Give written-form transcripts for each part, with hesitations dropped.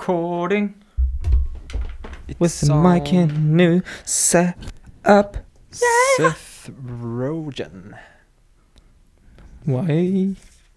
recording with the mic and new set up. Seth Rogen. Why?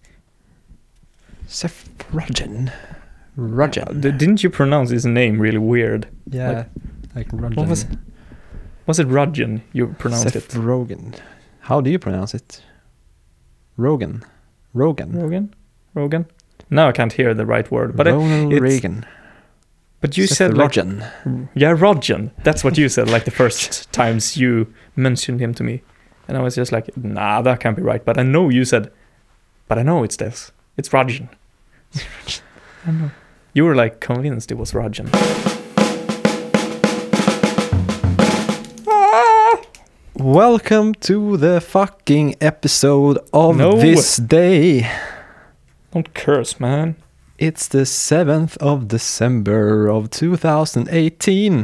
Seth Rogen. Rogen. Didn't you pronounce his name really weird? Yeah, like Rogen. What was it Rogen you pronounced Seth it? Rogen. How do you pronounce it? Rogen. Rogen? Now I can't hear the right word. But Ronald Reagan. But you Seth said Rogen. Yeah, Rogen. That's what you said like the first times you mentioned him to me. And I was just like, nah, that can't be right. But I know you said, but I know it's this. It's Rogen. I know. You were like convinced it was Rogen. Welcome to the fucking episode of this day. Don't curse, man. It's the 7th of December of 2018.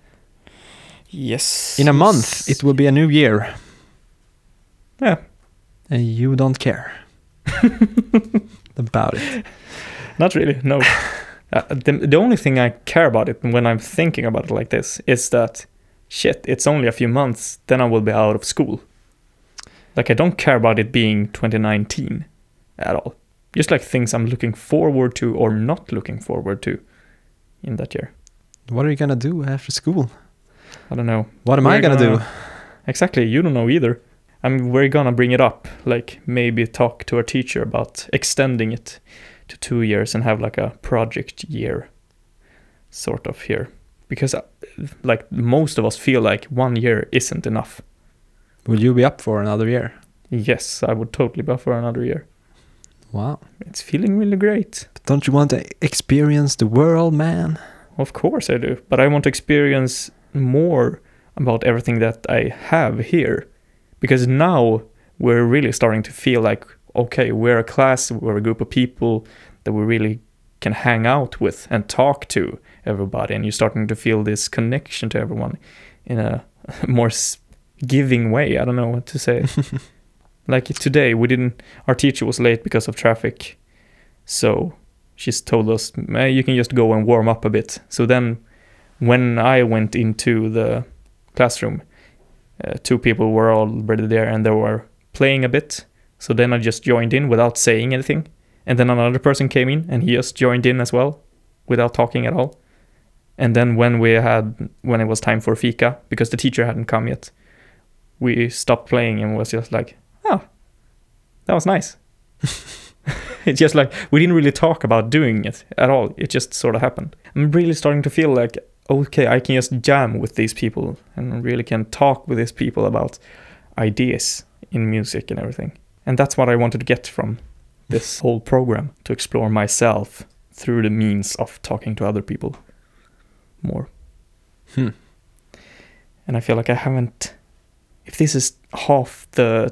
Yes. In a month, it will be a new year. Yeah. And you don't care about it. Not really, no. The only thing I care about it when I'm thinking about it like this is that, shit, it's only a few months, then I will be out of school. Like, I don't care about it being 2019 at all. Just like things I'm looking forward to or not looking forward to in that year. What are you gonna do after school? I don't know. What am I gonna do? Exactly, you don't know either. I mean, we're gonna bring it up, like maybe talk to our teacher about extending it to 2 years and have like a project year sort of here. Because like most of us feel like 1 year isn't enough. Would you be up for another year? Yes, I would totally be up for another year. Wow. It's feeling really great. But don't you want to experience the world, man? Of course I do. But I want to experience more about everything that I have here. Because now we're really starting to feel like, okay, we're a class, we're a group of people that we really can hang out with and talk to everybody. And you're starting to feel this connection to everyone in a more giving way. I don't know what to say. Like today, our teacher was late because of traffic. So she's told us, you can just go and warm up a bit. So then when I went into the classroom, 2 people were already there and they were playing a bit. So then I just joined in without saying anything. And then another person came in and he just joined in as well without talking at all. And then when it was time for fika, because the teacher hadn't come yet, we stopped playing and was just like, oh, that was nice. It's just like, we didn't really talk about doing it at all. It just sort of happened. I'm really starting to feel like, okay, I can just jam with these people and really can talk with these people about ideas in music and everything. And that's what I wanted to get from this whole program, to explore myself through the means of talking to other people more. And I feel like I haven't, if this is half the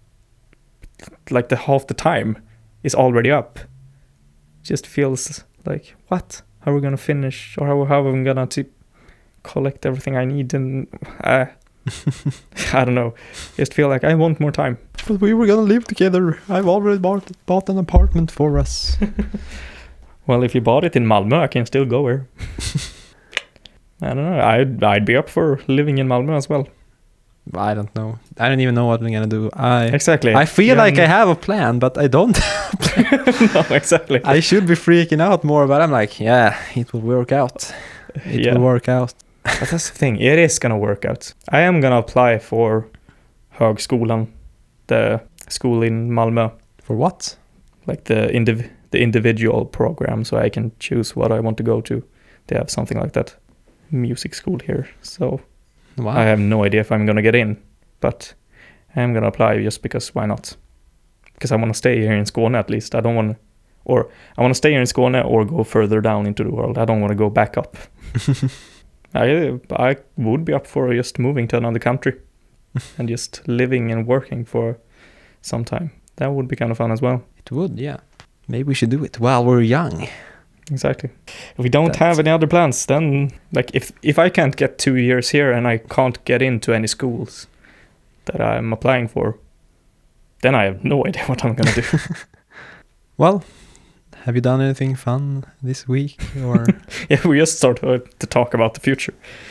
time is already up, it just feels like, what? How are we gonna finish, or how are we gonna collect everything I need? And I don't know. Just feel like I want more time. But we were gonna live together. I've already bought an apartment for us. Well, if you bought it in Malmö, I can still go here. I don't know. I'd be up for living in Malmö as well. I don't know. I don't even know what I'm gonna do. Exactly. I feel like I have a plan, but I don't. No, exactly. I should be freaking out more, but I'm like, yeah, it will work out. It will work out. But that's the thing. It is gonna work out. I am gonna apply for Högskolan, the school in Malmö. For what? Like the individual program, so I can choose what I want to go to. They have something like that. Music school here. So wow. I have no idea if I'm gonna get in, but I'm gonna apply just because why not? Because I want to stay here in Skåne at least. I want to stay here in Skåne or go further down into the world. I don't want to go back up. I would be up for just moving to another country and just living and working for some time. That would be kind of fun as well. It would, yeah. Maybe we should do it while we're young. Exactly. If we don't have any other plans, then like if I can't get 2 years here and I can't get into any schools that I'm applying for, then I have no idea what I'm gonna do. Well, Have you done anything fun this week? Or Yeah, we just started to talk about the future.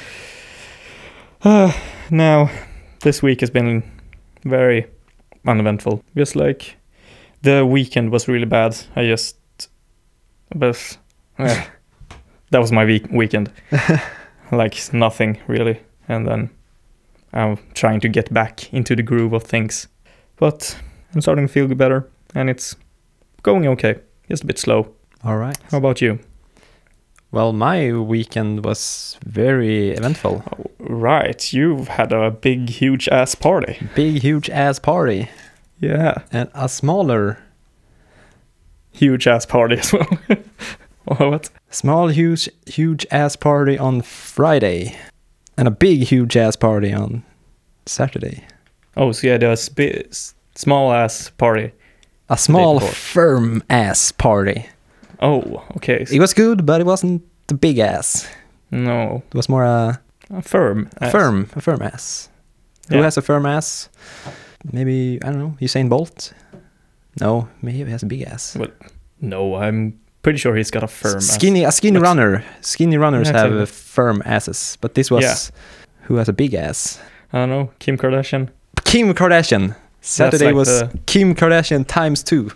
Now, this week has been very uneventful. Just like the weekend was really bad. But that was my weekend. Like nothing really. And then I'm trying to get back into the groove of things. But I'm starting to feel better, and it's going okay. Just a bit slow. all right. How about you? Well, my weekend was very eventful. Oh, right, you've had a big, huge ass party. Big, huge ass party, Yeah, and a smaller, huge ass party as well. What? small, huge ass party on Friday, and a big, huge ass party on Saturday. Oh, so yeah, there's small ass party. A small, before. firm ass party. Oh, okay. It was good, but it wasn't the big ass. No, It was more a firm. Ass. firm ass. Who Yeah. has a firm ass? Maybe, I don't know, Usain Bolt? No, maybe he has a big ass. No, I'm pretty sure he's got a firm. A skinny Like- runner. Skinny runners Yeah, have exactly. firm asses, but this was Yeah. who has a big ass. I don't know. Kim Kardashian. Kim Kardashian. Saturday like was Kim Kardashian times 2.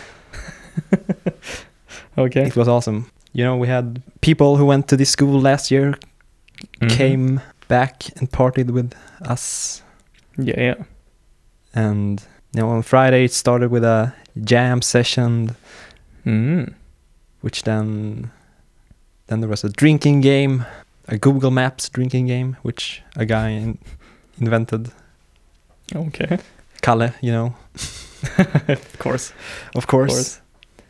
Okay. It was awesome. You know, we had people who went to this school last year Mhm. came back and partied with us. Yeah. And on Friday it started with a jam session, Mm. which then there was a drinking game, a Google Maps drinking game, which a guy invented. Okay. Kalle, you know, Of course. of course.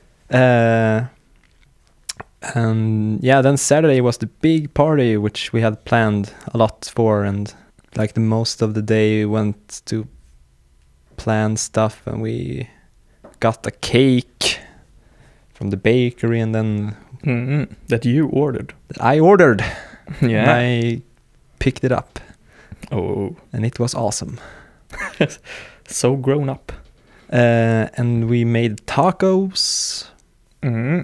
And yeah, then Saturday was the big party, which we had planned a lot for, and like the most of the day went to plan stuff, and we got a cake from the bakery, and then That you ordered. I ordered. Yeah. I picked it up, Oh, and it was awesome. so grown up. And we made tacos Mm.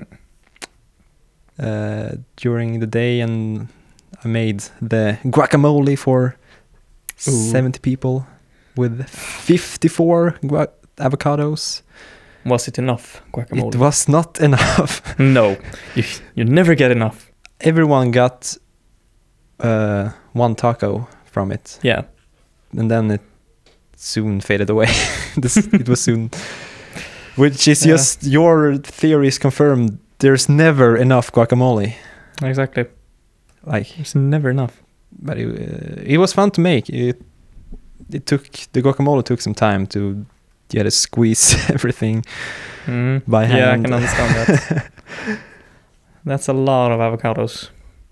during the day, and I made the guacamole for Ooh. 70 people with 54 avocados. Was it enough guacamole? It was not enough. No, you never get enough. Everyone got one taco from it, Yeah. and then it soon faded away. It was soon, which is Yeah. just your theory is confirmed. There's never enough guacamole. Exactly. Like, There's never enough. but it was fun to make. The guacamole took some time to squeeze everything by hand. Yeah, I can understand that. That's a lot of avocados.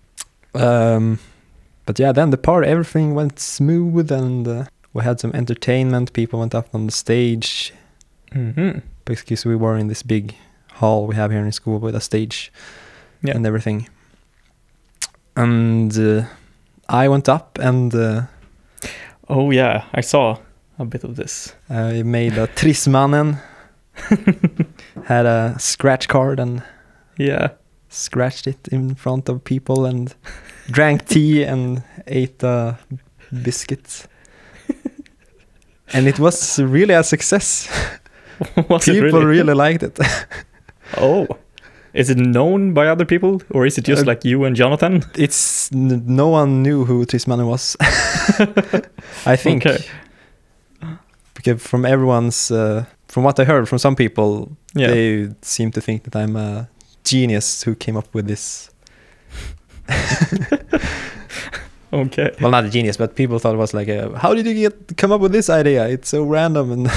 But yeah, then the party, everything went smooth, and we had some entertainment. People went up on the stage Mm-hmm. because we were in this big hall we have here in school with a stage and everything. And I went up and Oh yeah, I saw a bit of this. I made a Trissmannen. Had a scratch card and Yeah. scratched it in front of people and drank tea and ate a biscuit. And it was really a success. Was it People really liked it. Oh. Is it known by other people, or is it just like you and Jonathan? It's no one knew who Trissmannen was. I think. Okay. Because from everyone's, from what I heard from some people, Yeah. they seem to think that I'm a genius who came up with this. Okay. Well, not a genius, but people thought it was like, how did you come up with this idea? It's so random. And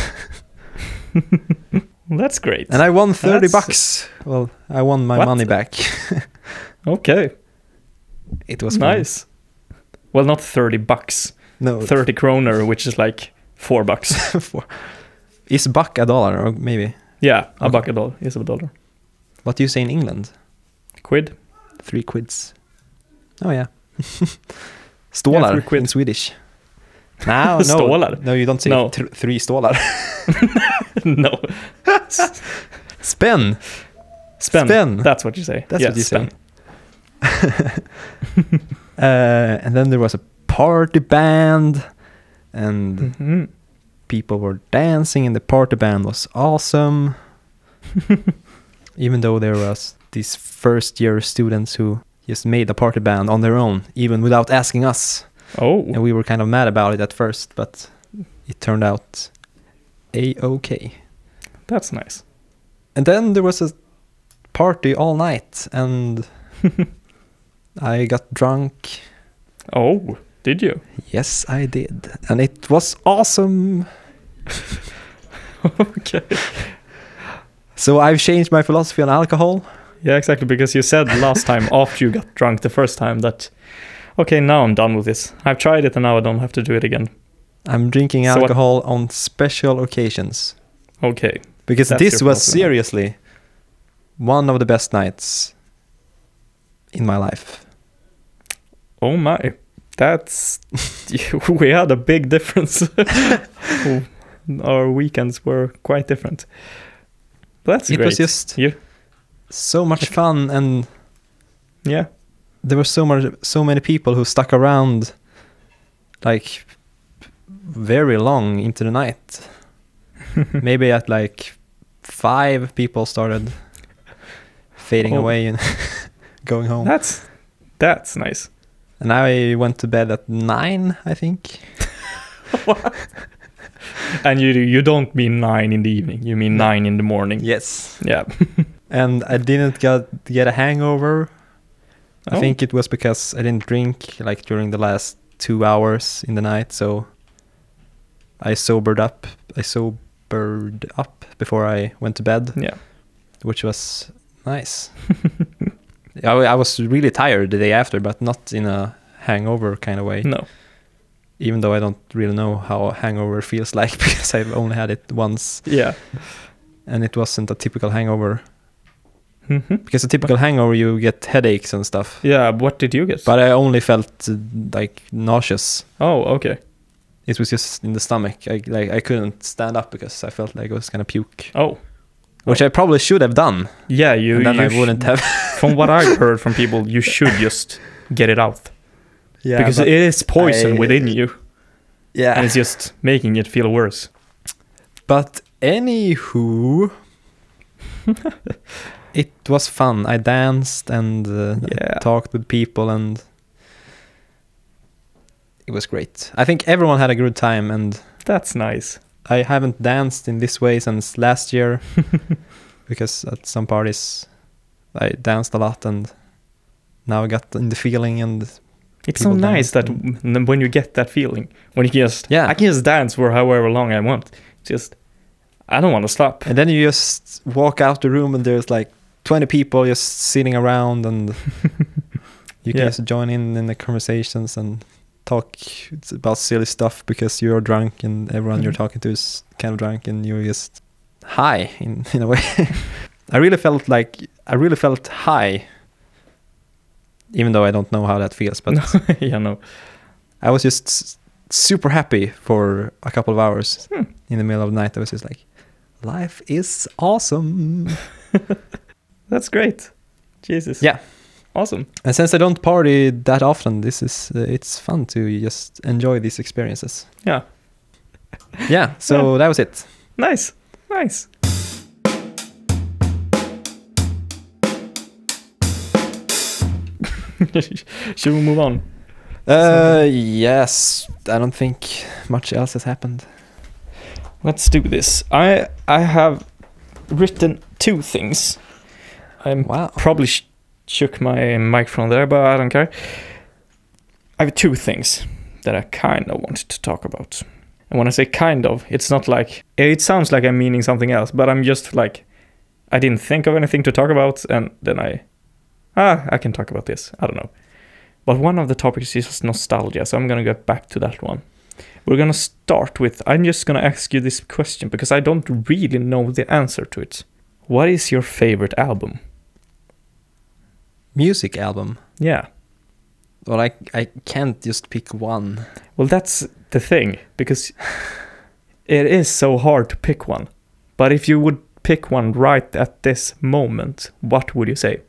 That's great. and I won 30 That's- bucks. Well, I won my What? money back. Okay. It was fun. Nice. Well, not 30 bucks. No, 30 kroner, which is like $4. Is buck a dollar or maybe? Yeah, a Okay. buck a dollar is a dollar. What do you say in England? Quid? 3 quids. Oh yeah. Stålar 3 quid. in Swedish. No, Stålar? No, you don't say No. 3 stålar. No. Spänn. Spend. That's what you say. That's what you spend. say. And then there was a party band, and Mm-hmm. people were dancing, and the party band was awesome. Even though there was these first year students who just made a party band on their own, even without asking us. Oh, And we were kind of mad about it at first, but it turned out a-okay. that's nice. And then there was a party all night, and I got drunk. Oh, did you? Yes, I did. And it was awesome. Okay. So I've changed my philosophy on alcohol. Yeah, exactly. Because you said last time after you got drunk the first time that, okay, now I'm done with this. I've tried it and now I don't have to do it again. I'm drinking So what- alcohol on special occasions. Okay. Because That's this your was philosophy. seriously one of the best nights in my life. Oh my. That's... we had a big difference. Our weekends were quite different. That's It great. was just You- so much fun, and Yeah. there were so many people who stuck around like very long into the night. Maybe at like 5 people started fading Oh. away and going home. That's nice. And I went to bed at 9, I think. And you don't mean 9 in the evening. You mean 9 in the morning. Yes. Yeah. And I didn't get a hangover. I Oh. think it was because I didn't drink like during the last 2 hours in the night, so I sobered up before I went to bed, Yeah. which was nice. I was really tired the day after, but not in a hangover kind of way. No. Even though I don't really know how a hangover feels like because I've only had it once, Yeah. and it wasn't a typical hangover. Mm-hmm. Because a typical hangover, you get headaches and stuff. Yeah. What did you get? But I only felt like nauseous. Oh, okay. It was just in the stomach. I couldn't stand up because I felt like I was gonna puke, Oh. which I probably should have done. Yeah. You. And then you I wouldn't have. From what I've heard from people, you should just get it out Yeah, because it is poison within you, and yeah. it's just making it feel worse. But anywho, it was fun. I danced and Yeah. I talked with people, and it was great. I think everyone had a good time, and That's nice. I haven't danced in this way since last year because at some parties I danced a lot, and now I got in the feeling, and It's so people nice that dance when you get that feeling, when you just, Yeah. I can just dance for however long I want. Just, I don't want to stop. and then you just walk out the room and there's like 20 people just sitting around, and you can Yeah. just join in the conversations and talk about silly stuff because you're drunk and everyone you're Mhm. talking to is kind of drunk, and you're just high in a way. I really felt high, even though I don't know how that feels, but Yeah, no. I was just super happy for a couple of hours. Hmm. In the middle of the night I was just like, life is awesome. That's great. Jesus. Yeah. Awesome. And since I don't party that often, this is it's fun to just enjoy these experiences. Yeah. Yeah, so that was it. Nice. Nice. Should we move on? Yes, I don't think much else has happened. Let's do this. I have written 2 things. I'm Wow. probably shook my microphone there, but I don't care. I have 2 things that I kind of wanted to talk about. And when I say kind of, it's not like, it sounds like I'm meaning something else, but I'm just like, I didn't think of anything to talk about, and then I can talk about this. I don't know. But one of the topics is just nostalgia, so I'm going to get back to that one. We're going to start with, I'm just going to ask you this question because I don't really know the answer to it. What is your favorite album? Music album. Yeah. Well, I can't just pick one. Well, that's the thing, because it is so hard to pick one. But if you would pick one right at this moment, what would you say?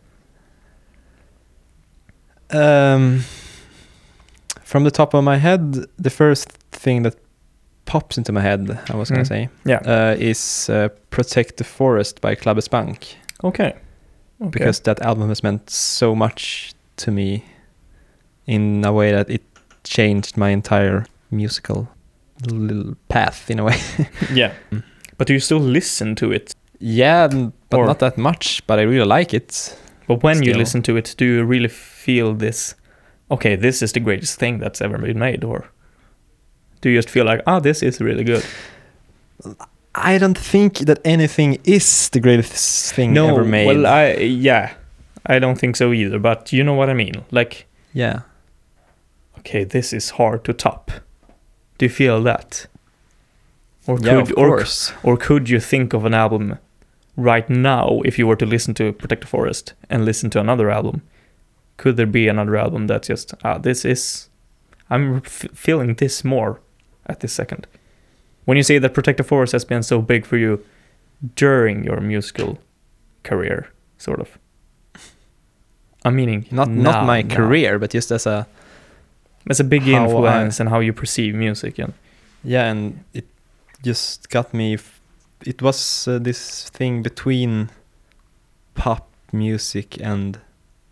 From the top of my head, the first thing that pops into my head, I was gonna say, is "Protect the Forest" by Clubbers Bank. Okay. Because that album has meant so much to me in a way that it changed my entire musical little path in a way. Yeah. But do you still listen to it? Yeah, but not that much, but I really like it. But when you listen to it, do you really feel this, okay, this is the greatest thing that's ever been made? Or do you just feel like, this is really good? I don't think that anything is the greatest thing ever made. Well, I don't think so either, but you know what I mean. Like, yeah. Okay, this is hard to top. Do you feel that? Of course. Or could you think of an album right now, if you were to listen to Protect the Forest and listen to another album? Could there be another album that's just, I'm feeling this more at this second? When you say that Protect the Forest has been so big for you during your musical career, sort of. I'm meaning not my career, but just as a big influence and how you perceive music. And it just got me. It was this thing between pop music and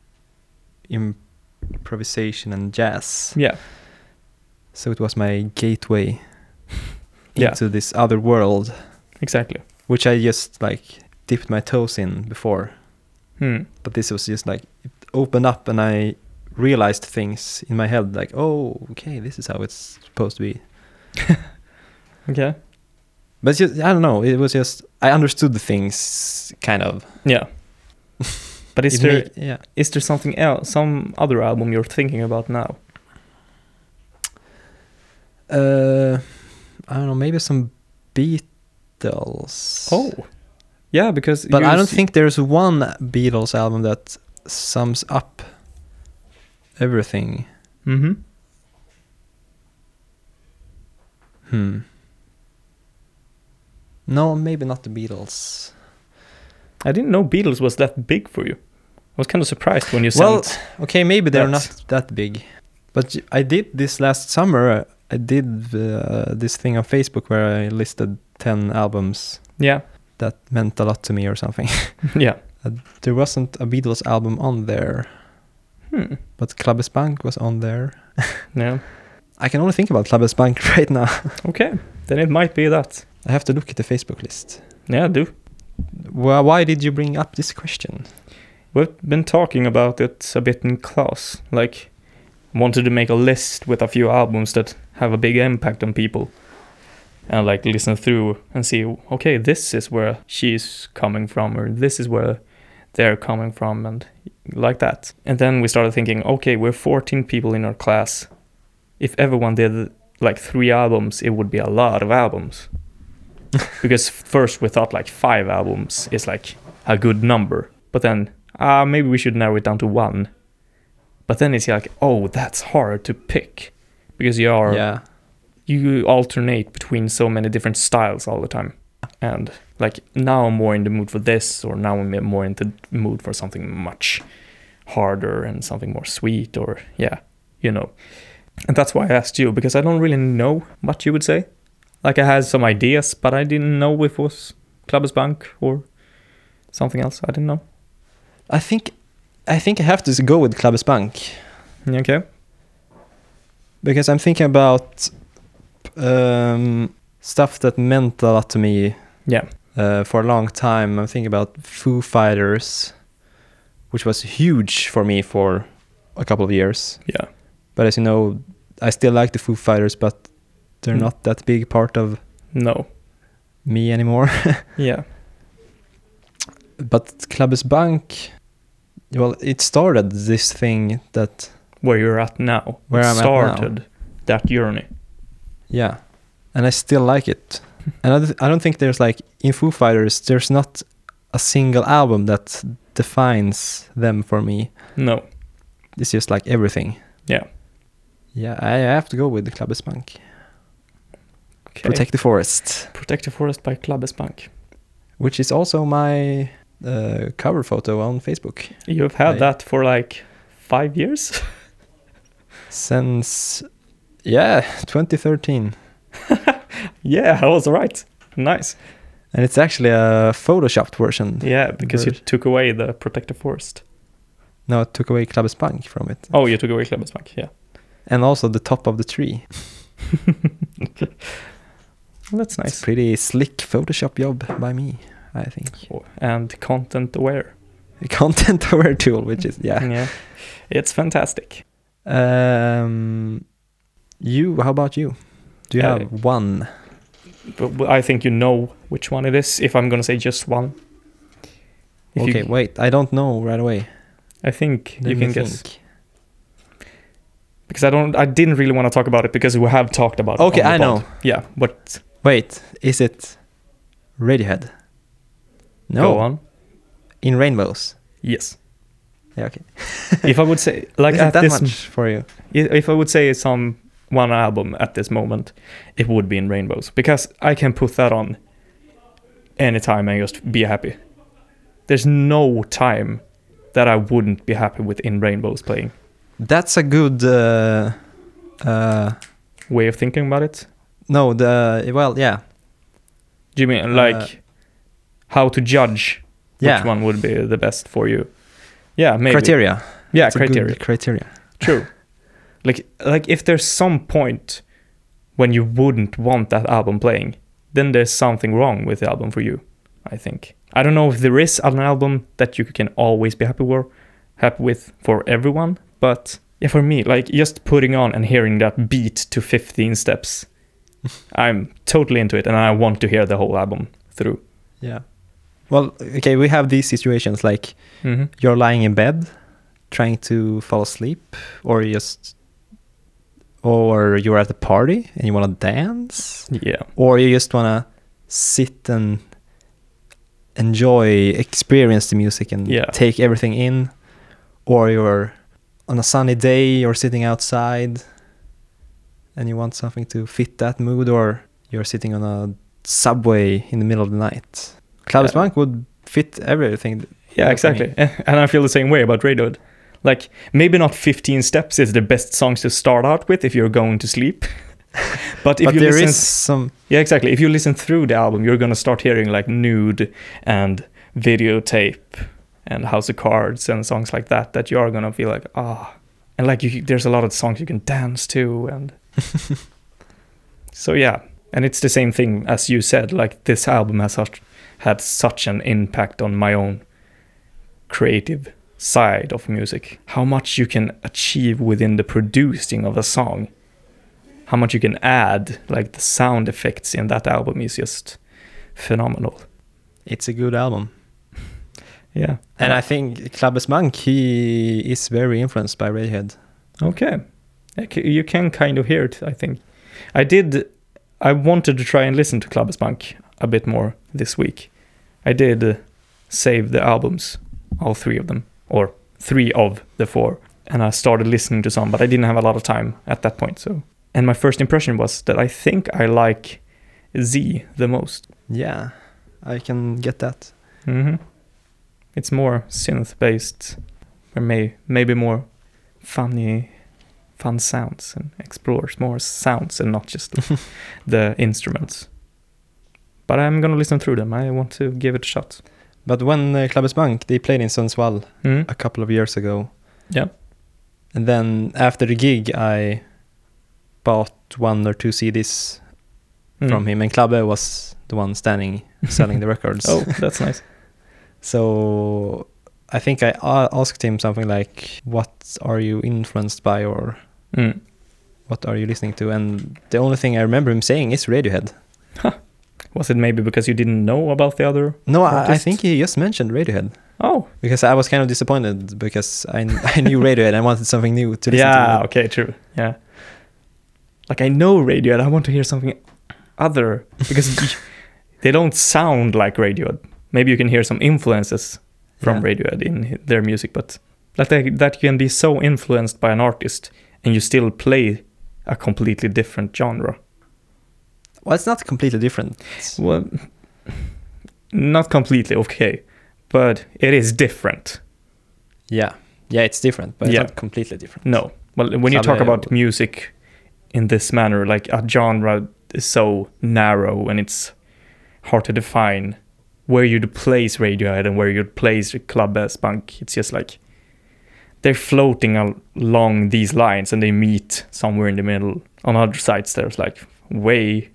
improvisation and jazz. Yeah. So it was my gateway into this other world. Exactly. Which I just dipped my toes in before. But this was just it opened up and I realized things in my head okay, this is how it's supposed to be. Okay. But just, I don't know, it was just, I understood the things, kind of. Yeah. But is there something else, some other album you're thinking about now? I don't know, maybe some Beatles. Oh. Yeah, because... But I don't think there's one Beatles album that sums up everything. Mm-hmm. No, maybe not the Beatles. I didn't know Beatles was that big for you. I was kind of surprised when you said... Well, okay, maybe they're not that big. But I did this last summer. I did this thing on Facebook where I listed 10 albums. Yeah. That meant a lot to me or something. Yeah. There wasn't a Beatles album on there. But Clubbers Bank was on there. Yeah. I can only think about Clubbers Bank right now. Okay, then it might be that. I have to look at the Facebook list. Yeah, do. Well, why did you bring up this question? We've been talking about it a bit in class. Wanted to make a list with a few albums that have a big impact on people. And listen through and see, okay, this is where she's coming from, or this is where they're coming from, and like that. And then we started thinking, okay, we're 14 people in our class. If everyone did 3 albums, it would be a lot of albums. Because first we thought 5 albums is a good number. But then, maybe we should narrow it down to 1. But then it's that's hard to pick. Because you alternate between so many different styles all the time. And now I'm more in the mood for this, or now I'm more in the mood for something much harder and something more sweet, or And that's why I asked you, because I don't really know what you would say. I had some ideas, but I didn't know if it was Clubbers Bank or something else. I didn't know. I think I have to go with Clubbers Bank. Okay. Because I'm thinking about stuff that meant a lot to me. Yeah. For a long time. I'm thinking about Foo Fighters, which was huge for me for a couple of years. Yeah. But as you know, I still like the Foo Fighters, but they're not that big part of me anymore. Yeah. But Clubbers Bank, well, it started this thing that... Where you're at now. Where I'm started at now. That journey. Yeah. And I still like it. And I don't think there's in Foo Fighters, there's not a single album that defines them for me. No. It's just everything. Yeah. Yeah, I have to go with the Clubbers Bank. Okay. Protect the Forest. Protect the Forest by Clubbers Bank. which is also my cover photo on Facebook. You've had that for like 5 years? Since 2013. Yeah, I was right. Nice. And it's actually a photoshopped version. Yeah, because you took away the protective forest. No, I took away Klabbesbank from it. Oh, you took away Klabbesbank, yeah. And also the top of the tree. Well, that's nice. It's a pretty slick Photoshop job by me, I think. And content aware. A content aware tool, which is, Yeah, it's fantastic. How about you? Do you have one? But I think you know which one it is, if I'm going to say just one. Wait, I don't know right away. I think you can guess. Because I didn't really want to talk about it because we have talked about it. Okay, I know. Yeah, but... Wait, is it Radiohead? No. Go on. In Rainbows? Yes. Yeah, okay. If I would say... like is at it that this, much for you? If I would say one album at this moment, it would be In Rainbows. Because I can put that on anytime and just be happy. There's no time that I wouldn't be happy with In Rainbows playing. That's a good way of thinking about it. No, yeah. Do you mean like how to judge which one would be the best for you? Yeah, maybe. Criteria. Yeah, that's criteria. True. like if there's some point when you wouldn't want that album playing, then there's something wrong with the album for you, I think. I don't know if there is an album that you can always be happy with for everyone, but yeah, for me, like just putting on and hearing that beat to 15 steps, I'm totally into it and I want to hear the whole album through. Yeah. Well, okay, we have these situations like you're lying in bed trying to fall asleep, or you're at a party and you want to dance. Yeah. Or you just want to sit and experience the music and take everything in. Or you're on a sunny day, you're sitting outside and you want something to fit that mood, or you're sitting on a subway in the middle of the night. Klabbesbank would fit everything. Yeah, exactly. And I feel the same way about Radiohead. Like, maybe not 15 Steps is the best songs to start out with if you're going to sleep. But if you there listen... is some... Yeah, exactly. If you listen through the album, you're going to start hearing like Nude and Videotape and House of Cards and songs like that you are going to feel like, And like, there's a lot of songs you can dance to. And so, yeah. And it's the same thing as you said. Like, this album has had such an impact on my own creative side of music. How much you can achieve within the producing of a song. How much you can add, like the sound effects in that album is just phenomenal. It's a good album. Yeah. And I think Klabbesbank, he is very influenced by Radiohead. Okay. You can kind of hear it, I think. I wanted to try and listen to Klabbesbank a bit more this week. I did save the albums, all 3 of them, or 3 of the 4, and I started listening to some, but I didn't have a lot of time at that point. So, and my first impression was that I think I like Z the most. Yeah, I can get that. It's more synth-based, or maybe more fun sounds, and explores more sounds and not just the instruments. But I'm gonna listen through them. I want to give it a shot. But when Klabbesbank, they played in Sundsvall a couple of years ago. Yeah. And then after the gig, I bought 1 or 2 CDs from him, and Klabbe was the one standing selling the records. Oh, that's nice. So I think I asked him something like, what are you influenced by, or what are you listening to? And the only thing I remember him saying is Radiohead. Huh. Was it maybe because you didn't know about the other? No, I think he just mentioned Radiohead. Oh. Because I was kind of disappointed because I knew Radiohead and I wanted something new to listen to. Yeah, okay, true. Yeah. Like, I know Radiohead, I want to hear something other, because they don't sound like Radiohead. Maybe you can hear some influences from Radiohead in their music, but that can be so influenced by an artist and you still play a completely different genre. Well, it's not completely different. Well, not completely okay, but it is different. Yeah, it's different, but Yeah. it's not completely different. No. Well, when you talk about music in this manner, like a genre is so narrow and it's hard to define where you'd place Radiohead and where you'd place Clubbasbank. It's just like they're floating along these lines and they meet somewhere in the middle. On other sides, there's like way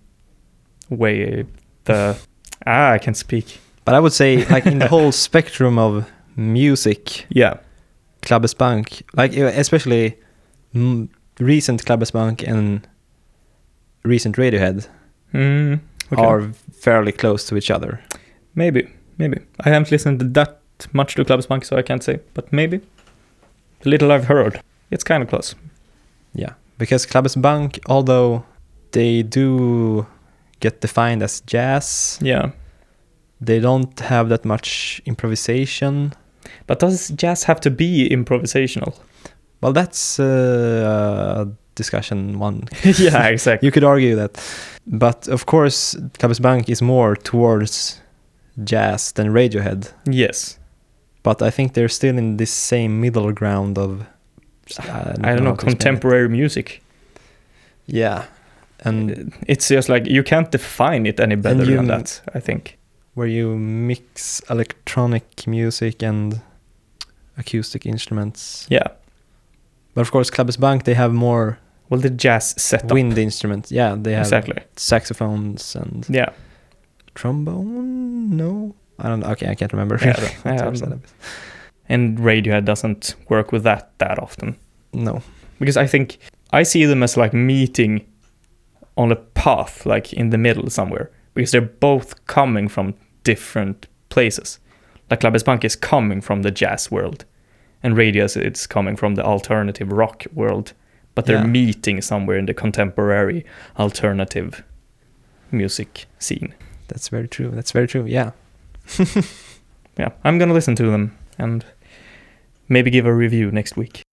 I can't speak. But I would say, like, in the whole spectrum of music, Yeah. Clubbasbank, like especially recent Clubbasbank and recent Radiohead Okay. are fairly close to each other. Maybe. I haven't listened that much to Clubbasbank, so I can't say. But maybe. The little I've heard, it's kind of close. Yeah, because Clubbasbank, although they do get defined as jazz, Yeah. they don't have that much improvisation. But does jazz have to be improvisational? Well, that's a discussion one. Yeah, exactly. You could argue that. But of course, Clubbasbank is more towards jazz than Radiohead. Yes. But I think they're still in this same middle ground of... I don't know, contemporary music. Yeah. And it's just like, you can't define it any better than that, I think. Where you mix electronic music and acoustic instruments. Yeah. But of course, Clubbasbank, they have more... Well, the jazz setup. Wind instruments. Yeah, they have exactly. Saxophones and... Yeah. Trombone? No? I don't know. Okay, I can't remember. And Radiohead doesn't work with that often. No. Because I think I see them as like meeting on a path, like in the middle somewhere. Because they're both coming from different places. Like Clubbasbank is coming from the jazz world. And Radiohead, it's coming from the alternative rock world. But they're meeting somewhere in the contemporary alternative music scene. That's very true. Yeah. Yeah, I'm gonna listen to them and maybe give a review next week.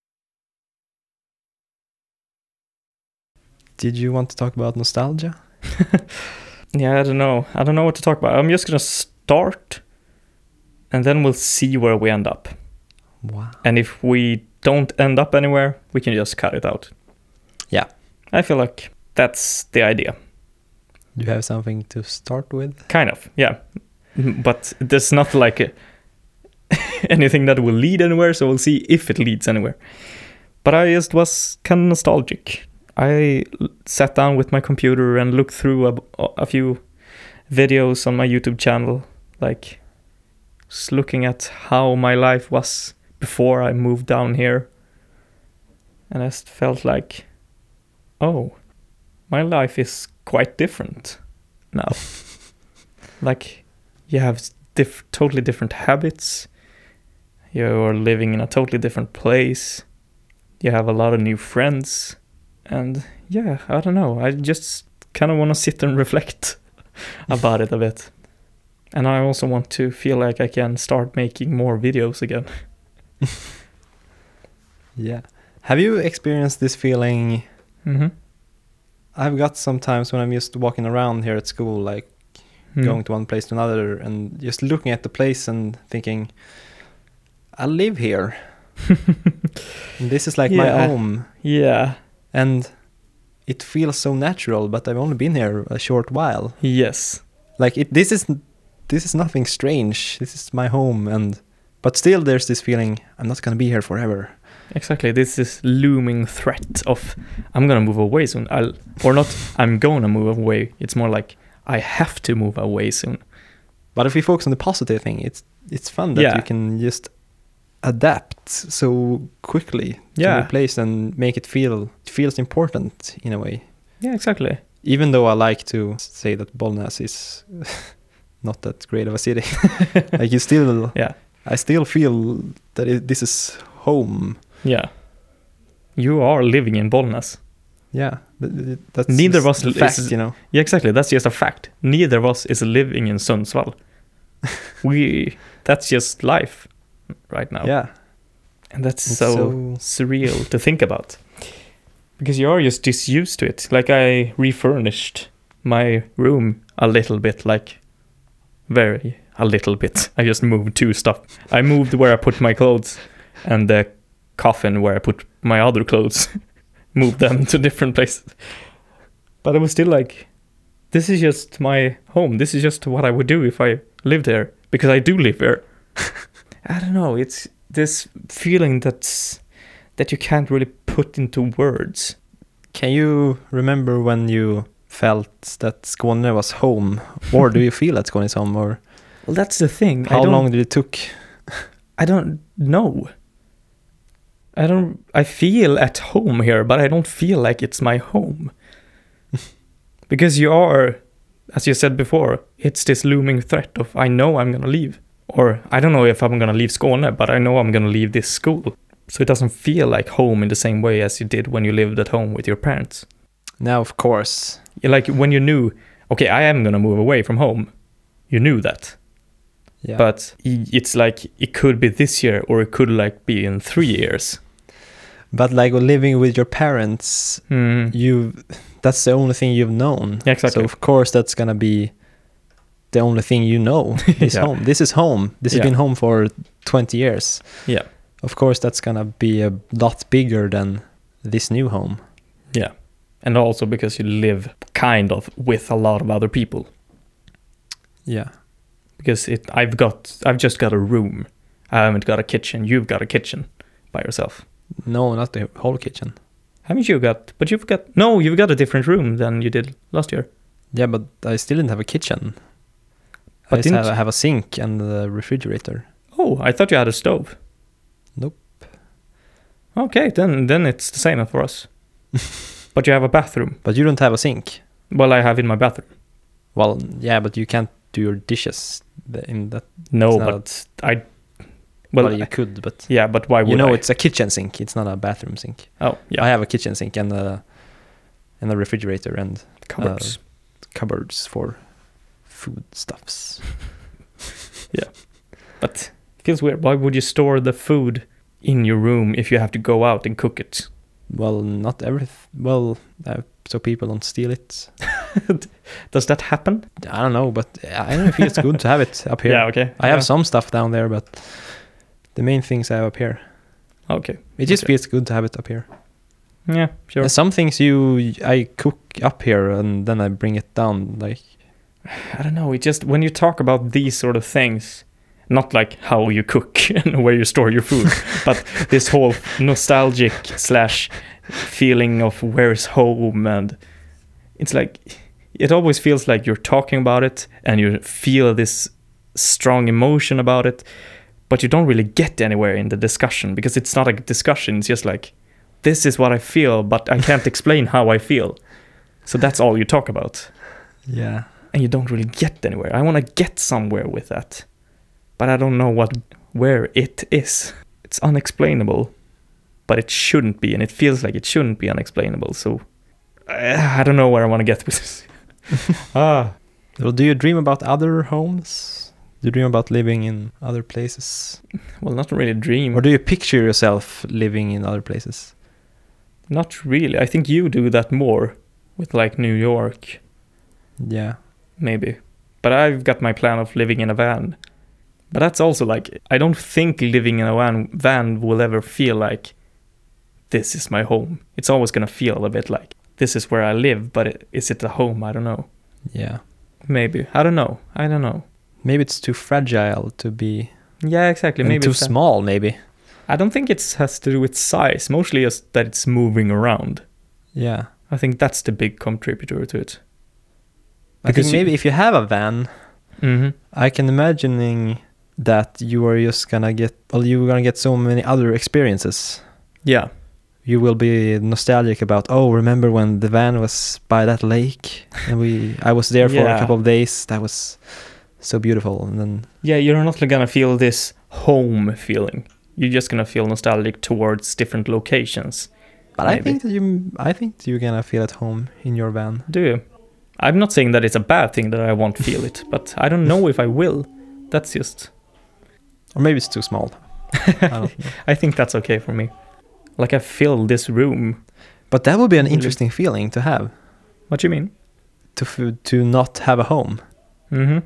Did you want to talk about nostalgia? Yeah, I don't know what to talk about. I'm just gonna start and then we'll see where we end up. Wow. And if we don't end up anywhere, we can just cut it out. Yeah. I feel like that's the idea. Do you have something to start with? Kind of, yeah. But there's not like anything that will lead anywhere, so we'll see if it leads anywhere. But I just was kind of nostalgic. I sat down with my computer and looked through a few videos on my YouTube channel, like just looking at how my life was before I moved down here. And I just felt like, oh, my life is quite different now. Like, you have totally different habits. You're living in a totally different place. You have a lot of new friends. And yeah, I don't know. I just kind of want to sit and reflect about it a bit. And I also want to feel like I can start making more videos again. Yeah. Have you experienced this feeling? Mm-hmm. I've got sometimes when I'm just walking around here at school, like going to one place to another and just looking at the place and thinking, I live here. This is like my home. Yeah. And it feels so natural, but I've only been here a short while. Yes. Like this is nothing strange. This is my home, but still there's this feeling I'm not going to be here forever. Exactly. This is looming threat of I'm going to move away soon. I'm going to move away. It's more like I have to move away soon. But if we focus on the positive thing, it's fun that you can just adapt so quickly to a place and make it feels important in a way. Yeah, exactly. Even though I like to say that Bollnäs is not that great of a city, like I still feel that this is home. Yeah, you are living in Bollnäs. Yeah, that's neither of us a fact, you know. Yeah, exactly. That's just a fact. Neither of us is living in Sundsvall. That's just life right now. Yeah, and that's so surreal to think about, because you are just disused to it. Like I refurnished my room a little bit, like very a little bit. I just moved 2 stuff. I moved where I put my clothes and the coffin where I put my other clothes. Moved them to different places. But it was still like, this is just my home. This is just what I would do if I lived there. Because I do live there. I don't know. It's this feeling that you can't really put into words. Can you remember when you felt that Skåne was home? Or do you feel that Skåne is home? Or Well, that's the thing. how long did it took? I don't know. I feel at home here, but I don't feel like it's my home. Because you are, as you said before, it's this looming threat of I know I'm going to leave. Or I don't know if I'm going to leave Skåne, but I know I'm going to leave this school. So it doesn't feel like home in the same way as you did when you lived at home with your parents. Now, of course. Like when you knew, okay, I am going to move away from home. You knew that. Yeah. But it's like it could be this year or it could like be in 3 years. But like living with your parents, that's the only thing you've known. Yeah, exactly. So of course that's gonna be the only thing you know is Yeah. home. This is home. This has been home for 20 years. Yeah. Of course that's gonna be a lot bigger than this new home. Yeah. And also because you live kind of with a lot of other people. Yeah. Because I've just got a room. I haven't got a kitchen. You've got a kitchen by yourself. No, not the whole kitchen. Haven't you got? But you've got a different room than you did last year. Yeah, but I still didn't have a kitchen. But I just have a sink and a refrigerator. Oh, I thought you had a stove. Nope. Okay, then it's the same for us. But you have a bathroom. But you don't have a sink. Well, I have in my bathroom. Well, yeah, but you can't do your dishes in that. No, but I. Well, you could, but yeah, but why would I? It's a kitchen sink. It's not a bathroom sink. Oh, yeah. I have a kitchen sink and a refrigerator and Cupboards. Cupboards for food stuffs. Yeah, but it feels weird. Why would you store the food in your room if you have to go out and cook it? Well, not everything. Well, so people don't steal it. Does that happen? I don't know, but I don't feel it's good to have it up here. Yeah, okay. I have some stuff down there, but the main things I have up here. Okay. It just feels good to have it up here. Yeah, sure. And some things I cook up here and then I bring it down. Like, I don't know. It just when you talk about these sort of things, not like how you cook and where you store your food, but this whole nostalgic / feeling of where's home, and it's like it always feels like you're talking about it and you feel this strong emotion about it, but you don't really get anywhere in the discussion because it's not a discussion. It's just like, this is what I feel, but I can't explain how I feel. So that's all you talk about. yeah. And you don't really get anywhere. I want to get somewhere with that, but I don't know where it is. It's unexplainable, but it shouldn't be, and it feels like it shouldn't be unexplainable. So I don't know where I want to get with this. Well, do you dream about other homes? Do you dream about living in other places? Well, not really dream. Or do you picture yourself living in other places? Not really. I think you do that more with like New York. Yeah. Maybe. But I've got my plan of living in a van. But that's also like, I don't think living in a van will ever feel like this is my home. It's always going to feel a bit like this is where I live, but is it a home? I don't know. Yeah. Maybe. I don't know. Maybe it's too fragile to be. Yeah, exactly. Maybe too it's small, maybe. I don't think it has to do with size. Mostly just that it's moving around. Yeah. I think that's the big contributor to it. I think maybe if you have a van, I can imagining that you are just gonna get, you're gonna get so many other experiences. Yeah. You will be nostalgic about, remember when the van was by that lake and I was there for a couple of days. That was so beautiful. And then you're not gonna feel this home feeling. You're just gonna feel nostalgic towards different locations. But maybe. I think you're gonna feel at home in your van. Do you? I'm not saying that it's a bad thing that I won't feel it, but I don't know if I will. That's just... Or maybe it's too small. I don't know. I think that's okay for me. Like I fill this room. But that would be an interesting feeling to have. What do you mean? To not have a home. Mm-hmm.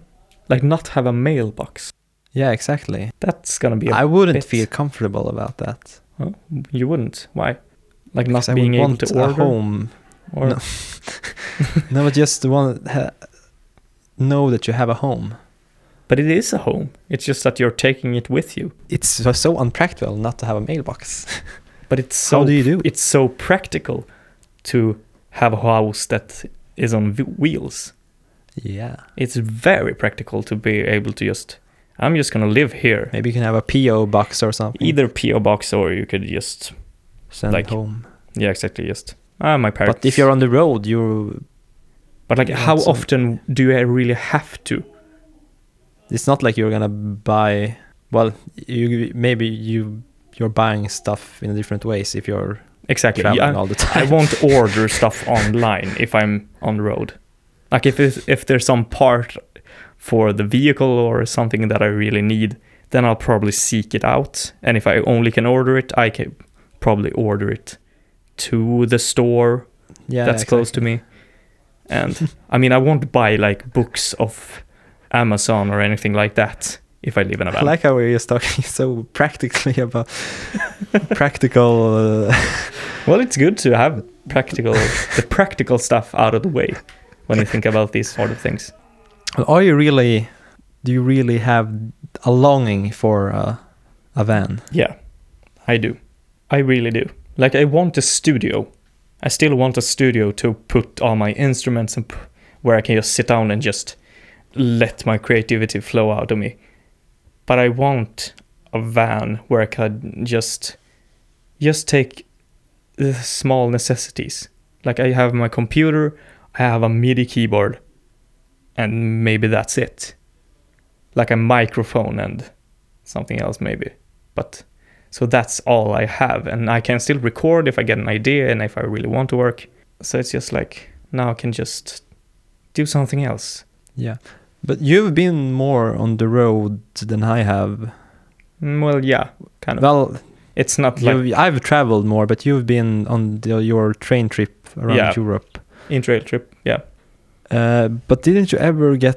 Like not have a mailbox. Yeah, exactly. That's gonna be I wouldn't bit- feel comfortable about that. Oh, you wouldn't. Why? Like not Because I being would able want to a order? home. Or No. No, but just know that you have a home. But it is a home. It's just that you're taking it with you. It's so unpractical not to have a mailbox. But it's so How do you do? it's so practical to have a house that is on wheels. Yeah. It's very practical to be able to I'm just gonna live here. Maybe you can have a PO box or something. Either PO box or you could just Send like- home. yeah, exactly, just my parents. But if you're on the road, you But like, you how want some- often do I really have to? it's not like you're gonna buy. Well, you're buying stuff in different ways if you're Exactly. traveling I, all the I time. won't order stuff online if I'm on the road. Like if there's some part for the vehicle or something that I really need, then I'll probably seek it out. And if I only can order it, I can probably order it to the store Yeah, that's close to me. And I mean, I won't buy like books of Amazon or anything like that if I live in a I van. like how we're just talking so practically about practical. Well, it's good to have the practical stuff out of the way when you think about these sort of things. Do you really have a longing for a van? Yeah, I do. I really do. Like, I want a studio. I still want a studio to put all my instruments and where I can just sit down and just let my creativity flow out of me. But I want a van where I could just take the small necessities. Like, I have my computer, I have a MIDI keyboard, and maybe that's it. Like a microphone and something else maybe. But so that's all I have, and I can still record if I get an idea and if I really want to work. So it's just like, now I can just do something else. Yeah, but you've been more on the road than I have. Well, yeah, kind of. Well, It's not like I've traveled more, but you've been on your train trip around Yeah. Europe. in-trail trip, yeah. But didn't you ever get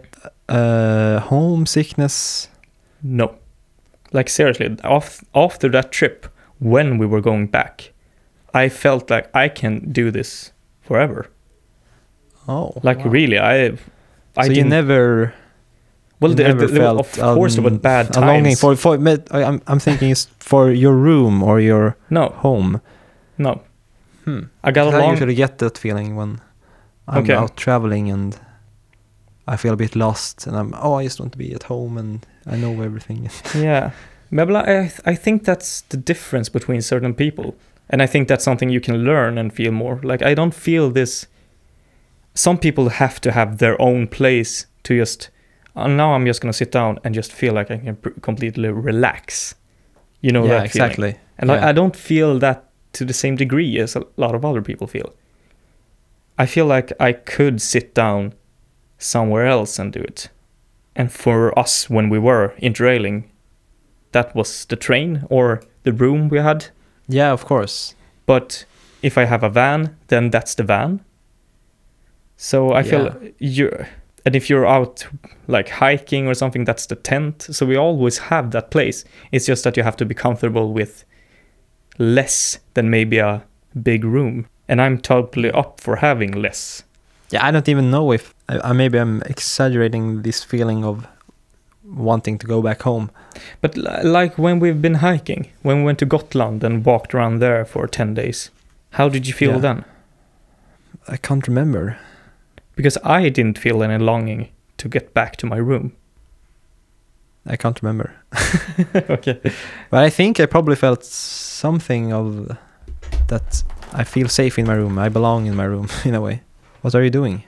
homesickness? No. Like, seriously, after that trip, when we were going back, I felt like I can do this forever. Oh, Like, wow. really, I So you didn't... never. Well, you there, never there, felt of course, there were bad a times. longing for I'm thinking it's for your room or your No, home. no. I got I along... usually get that feeling when I'm Okay. out traveling and I feel a bit lost and I just want to be at home and I know everything. Yeah. But I think that's the difference between certain people. And I think that's something you can learn and feel more. Like, I don't feel this... Some people have to have their own place to just... now I'm just going to sit down and just feel like I can completely relax. You know, Yeah, that feeling. exactly. And I don't feel that to the same degree as a lot of other people feel. I feel like I could sit down somewhere else and do it. And for us, when we were interrailing, that was the train or the room we had. Yeah, of course. But if I have a van, then that's the van. So I feel and if you're out like hiking or something, that's the tent. So we always have that place. It's just that you have to be comfortable with less than maybe a big room. And I'm totally up for having less. Yeah, I don't even know if maybe I'm exaggerating this feeling of wanting to go back home. But like when we've been hiking, when we went to Gotland and walked around there for 10 days, how did you feel then? I can't remember. Because I didn't feel any longing to get back to my room. I can't remember. Okay. But I think I probably felt something of that. I feel safe in my room. I belong in my room in a way. What are you doing?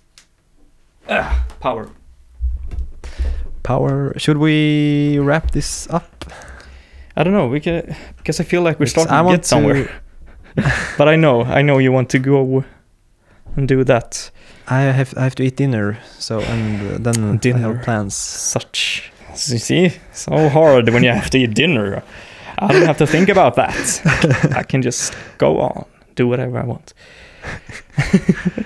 Power. Power. Should we wrap this up? I don't know. We can, because I feel like we're Because starting to get somewhere. But I know you want to go and do that. I have to eat dinner, so and then I have plans. Such, you see, so hard when you have to eat dinner. I don't have to think about that. I can just go on, do whatever I want.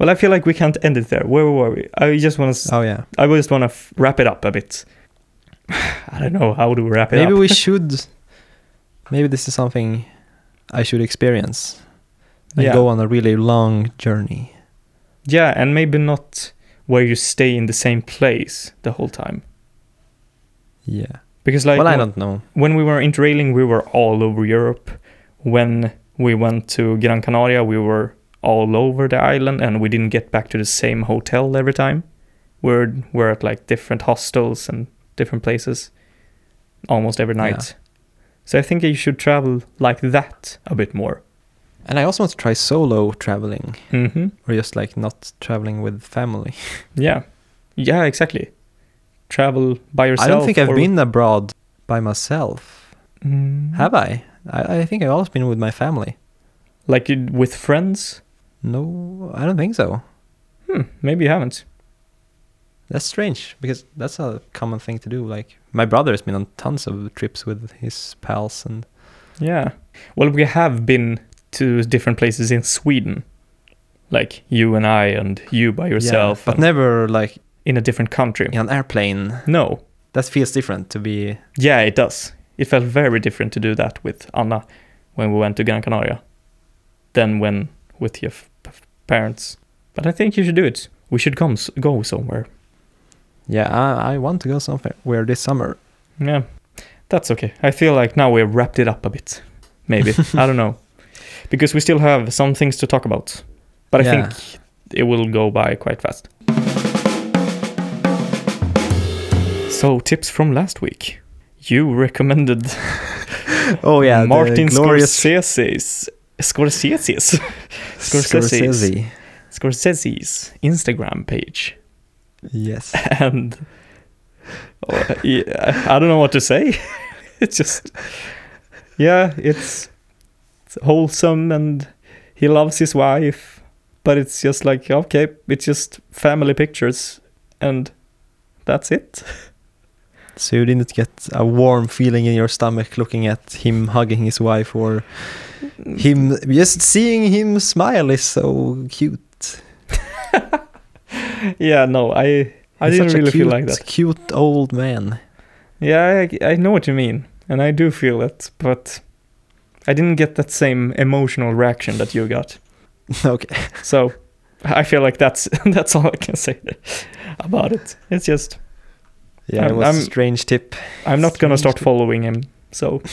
Well, I feel like we can't end it there. Where were we? I just want to. Oh yeah. I just want to wrap it up a bit. I don't know how to wrap it up. Maybe we should. Maybe this is something I should experience and Yeah. go on a really long journey. Yeah, and maybe not where you stay in the same place the whole time. Yeah. Because like Well, I don't know. when we were interrailing, we were all over Europe. When we went to Gran Canaria, we were all over the island, and we didn't get back to the same hotel every time. We're at like different hostels and different places almost every night. Yeah. So I think you should travel like that a bit more. And I also want to try solo traveling, Mm-hmm. or just like not traveling with family. Yeah. Yeah, exactly. Travel by yourself. I don't think I've or- been abroad by myself. Mm. Have I? I think I've always been with my family. Like with friends? No, I don't think so. Maybe you haven't. That's strange because that's a common thing to do. Like my brother has been on tons of trips with his pals, and Yeah. Well, we have been to different places in Sweden. Like you and I and you by yourself. yeah, but and never like in a different country. in an airplane. No. That feels different to be. Yeah, it does. It felt very different to do that with Anna when we went to Gran Canaria than when with your parents. But I think you should do it. We should go somewhere. Yeah, I want to go somewhere this summer. Yeah, that's okay. I feel like now we've wrapped it up a bit. Maybe. I don't know. Because we still have some things to talk about. But I Yeah. think it will go by quite fast. So, tips from last week. You recommended Oh yeah, Martin the glorious Scorsese's Instagram page. Yes. And yeah, I don't know what to say. It's just, yeah, it's wholesome and he loves his wife, but it's just like, okay, it's just family pictures and that's it. So you didn't get a warm feeling in your stomach looking at him hugging his wife, or him just seeing him smile is so cute. Yeah, no, I He's didn't such a really feel like cute- that. Cute old man. Yeah, I know what you mean, and I do feel it, but I didn't get that same emotional reaction that you got. Okay. So I feel like that's all I can say about it. It's just Yeah, it was a strange tip. I'm not gonna start Strange. following him. So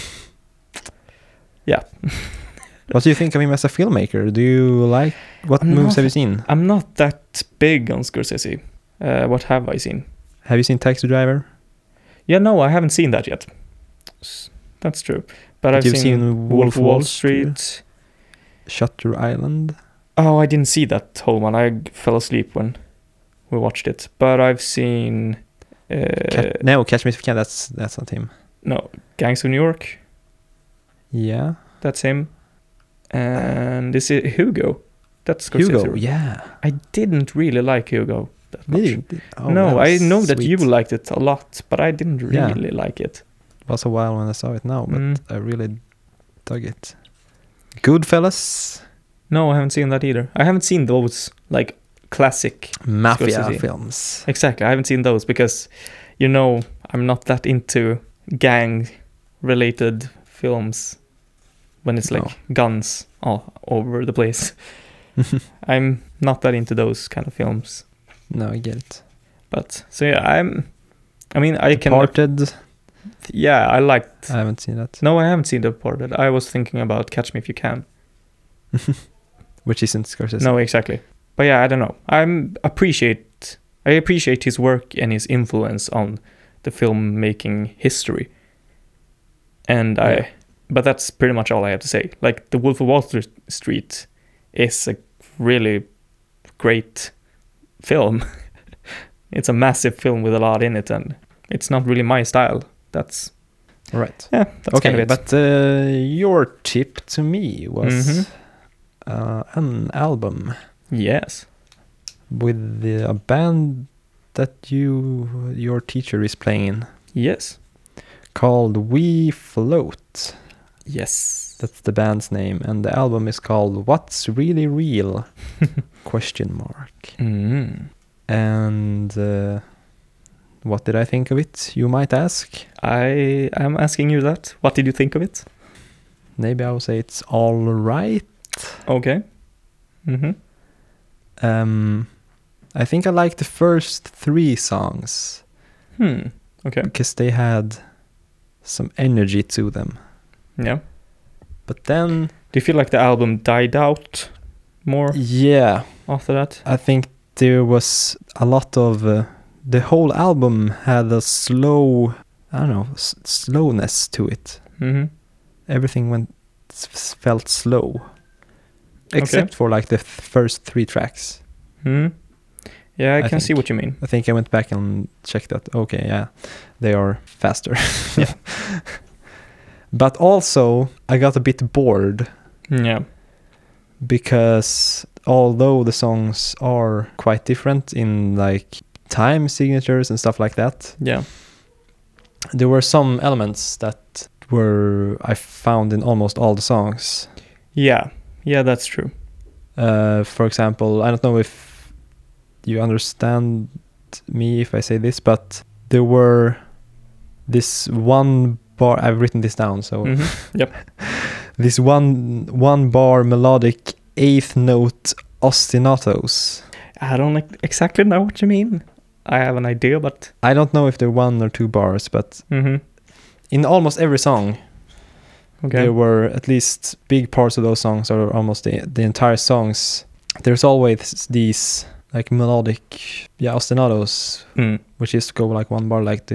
yeah, What do you think of him as a filmmaker? Do you like what I'm movies not- have you seen? I'm not that big on Scorsese. What have I seen? Have you seen Taxi Driver? Yeah, no, I haven't seen that yet. That's true. But I've You've seen Wolf of Wall Street. Shutter Island. Oh, I didn't see that whole one. I fell asleep when we watched it. But I've seen No, Catch Me If You Can. That's not him. no, Gangs of New York. Yeah. That's him. And is it Hugo? That's Scorsese. Hugo. Yeah. I didn't really like Hugo that much. Did you? Oh, no, that I was know that sweet. you liked it a lot, but I didn't Yeah. really like it. It was a while when I saw it now, but Mm. I really dug it. Goodfellas. No, I haven't seen that either. I haven't seen those like classic. Mafia Scorsese. films. Exactly, I haven't seen those because, I'm not that into gang-related films when it's like guns all over the place. I'm not that into those kind of films. No, I get it. But so yeah, I can. Departed. Yeah, I liked. I haven't seen that. No, I haven't seen Departed. I was thinking about Catch Me If You Can. Which isn't Scorsese. No, exactly. But yeah, I don't know. I appreciate his work and his influence on the filmmaking history. And Yeah. but that's pretty much all I have to say. Like The Wolf of Wall Street is a really great film. It's a massive film with a lot in it, and it's not really my style. That's Right. that's Okay, kind of it. but your tip to me was Mhm. an album Yes. with a band that your teacher is playing in Yes. called We Float. Yes. That's the band's name, and the album is called What's Really Real? ? And what did I think of it, you might ask? I am asking you that. What did you think of it? Maybe I will say it's all right. Okay. I think I liked the first 3 songs Okay. because they had some energy to them. Yeah. But then, Do you feel like the album died out more yeah, after that? I think there was a lot of the whole album had a slow, I don't know, slowness to it. Everything felt slow, except for like the first 3 tracks. Yeah, I can think. see what you mean. I think I went back and checked that. Okay, yeah, they are faster. Yeah. But also, I got a bit bored Yeah. because although the songs are quite different in like time signatures and stuff like that, Yeah. there were some elements that I found in almost all the songs. Yeah. Yeah, that's true. For example, I don't know if you understand me if I say this, but there were this one bar, I've written this down, so Yep. this one bar melodic 8th note ostinatos. I don't exactly know what you mean. I have an idea, but I don't know if they're 1 or 2 bars, but in almost every song, there were at least big parts of those songs, or almost the entire songs. There's always these like melodic, ostinatos, which is go like 1 bar, like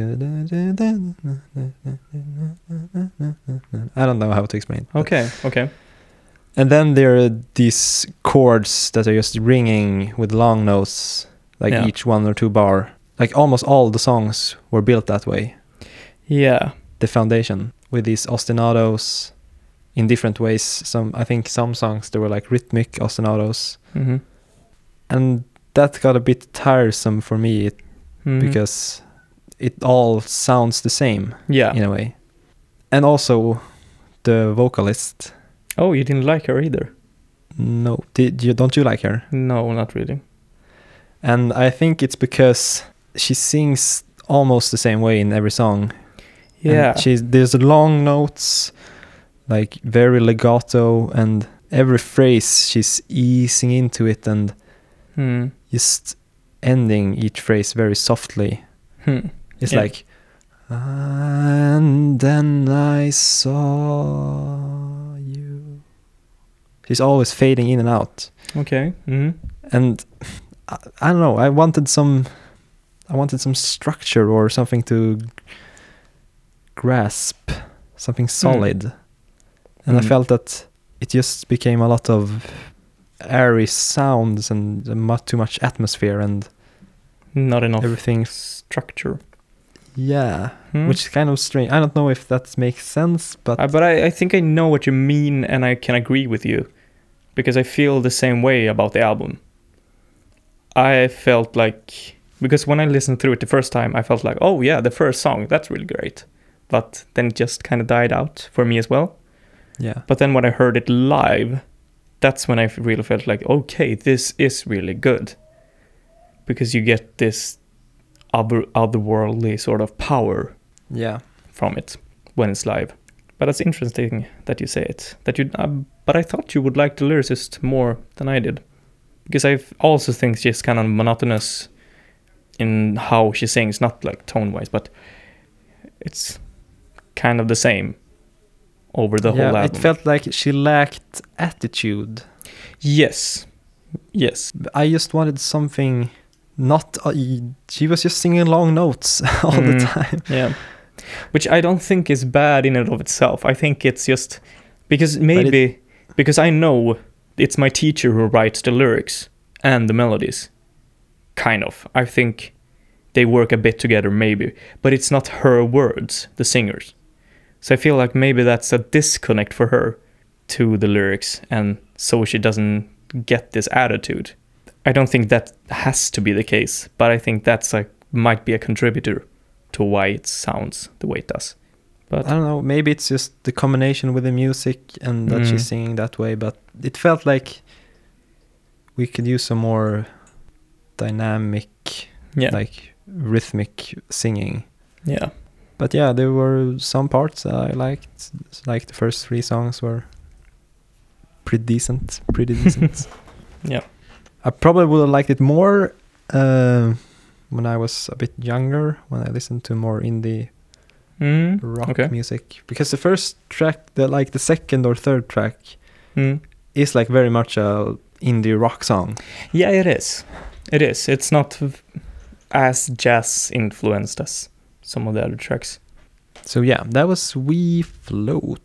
I don't know how to explain. Okay. And then there are these chords that are just ringing with long notes, like each 1 or 2 bar. Like almost all the songs were built that way. Yeah. The foundation with these ostinatos in different ways. I think some songs there were like rhythmic ostinatos, and that got a bit tiresome for me because it all sounds the same. Yeah. In a way. And also the vocalist. Oh, you didn't like her either? No, don't you like her? No, not really. And I think it's because she sings almost the same way in every song. Yeah. And there's long notes, like very legato, and every phrase she's easing into it and just ending each phrase very softly. It's like, and then I saw you. She's always fading in and out. Okay. And I don't know, I wanted some structure or something to grasp, something solid. And I felt that it just became a lot of airy sounds and too much atmosphere and not enough everything structure. Yeah, which is kind of strange. I don't know if that makes sense, but I think I know what you mean, and I can agree with you, because I feel the same way about the album. I felt like, because when I listened through it the first time, I felt like, oh yeah, the first song, that's really great. But then it just kind of died out for me as well. Yeah. But then when I heard it live, that's when I really felt like, okay, this is really good. Because you get this otherworldly sort of power from it when it's live. But it's interesting that you say it. But I thought you would like the lyricist more than I did. Because I also think she's kind of monotonous in how she sings, not like tone-wise, but it's kind of the same over the whole album. It felt like she lacked attitude. Yes. I just wanted something not... she was just singing long notes all the time. Yeah. Which I don't think is bad in and of itself. I think it's just... Because because I know it's my teacher who writes the lyrics and the melodies. Kind of. I think they work a bit together, maybe. But it's not her words, the singers. So I feel like maybe that's a disconnect for her to the lyrics, and so she doesn't get this attitude. I don't think that has to be the case, but I think that's might be a contributor to why it sounds the way it does. But I don't know, maybe it's just the combination with the music and that she's singing that way, but it felt like we could use some more dynamic, like rhythmic singing. Yeah. But yeah, there were some parts that I liked. Like the first 3 songs were pretty decent. Yeah. I probably would have liked it more when I was a bit younger, when I listened to more indie rock music. Because the first track, the second or third track, is like very much a indie rock song. Yeah, it is. It is. It's not as jazz influenced as some of the other tracks. So yeah, that was We Float.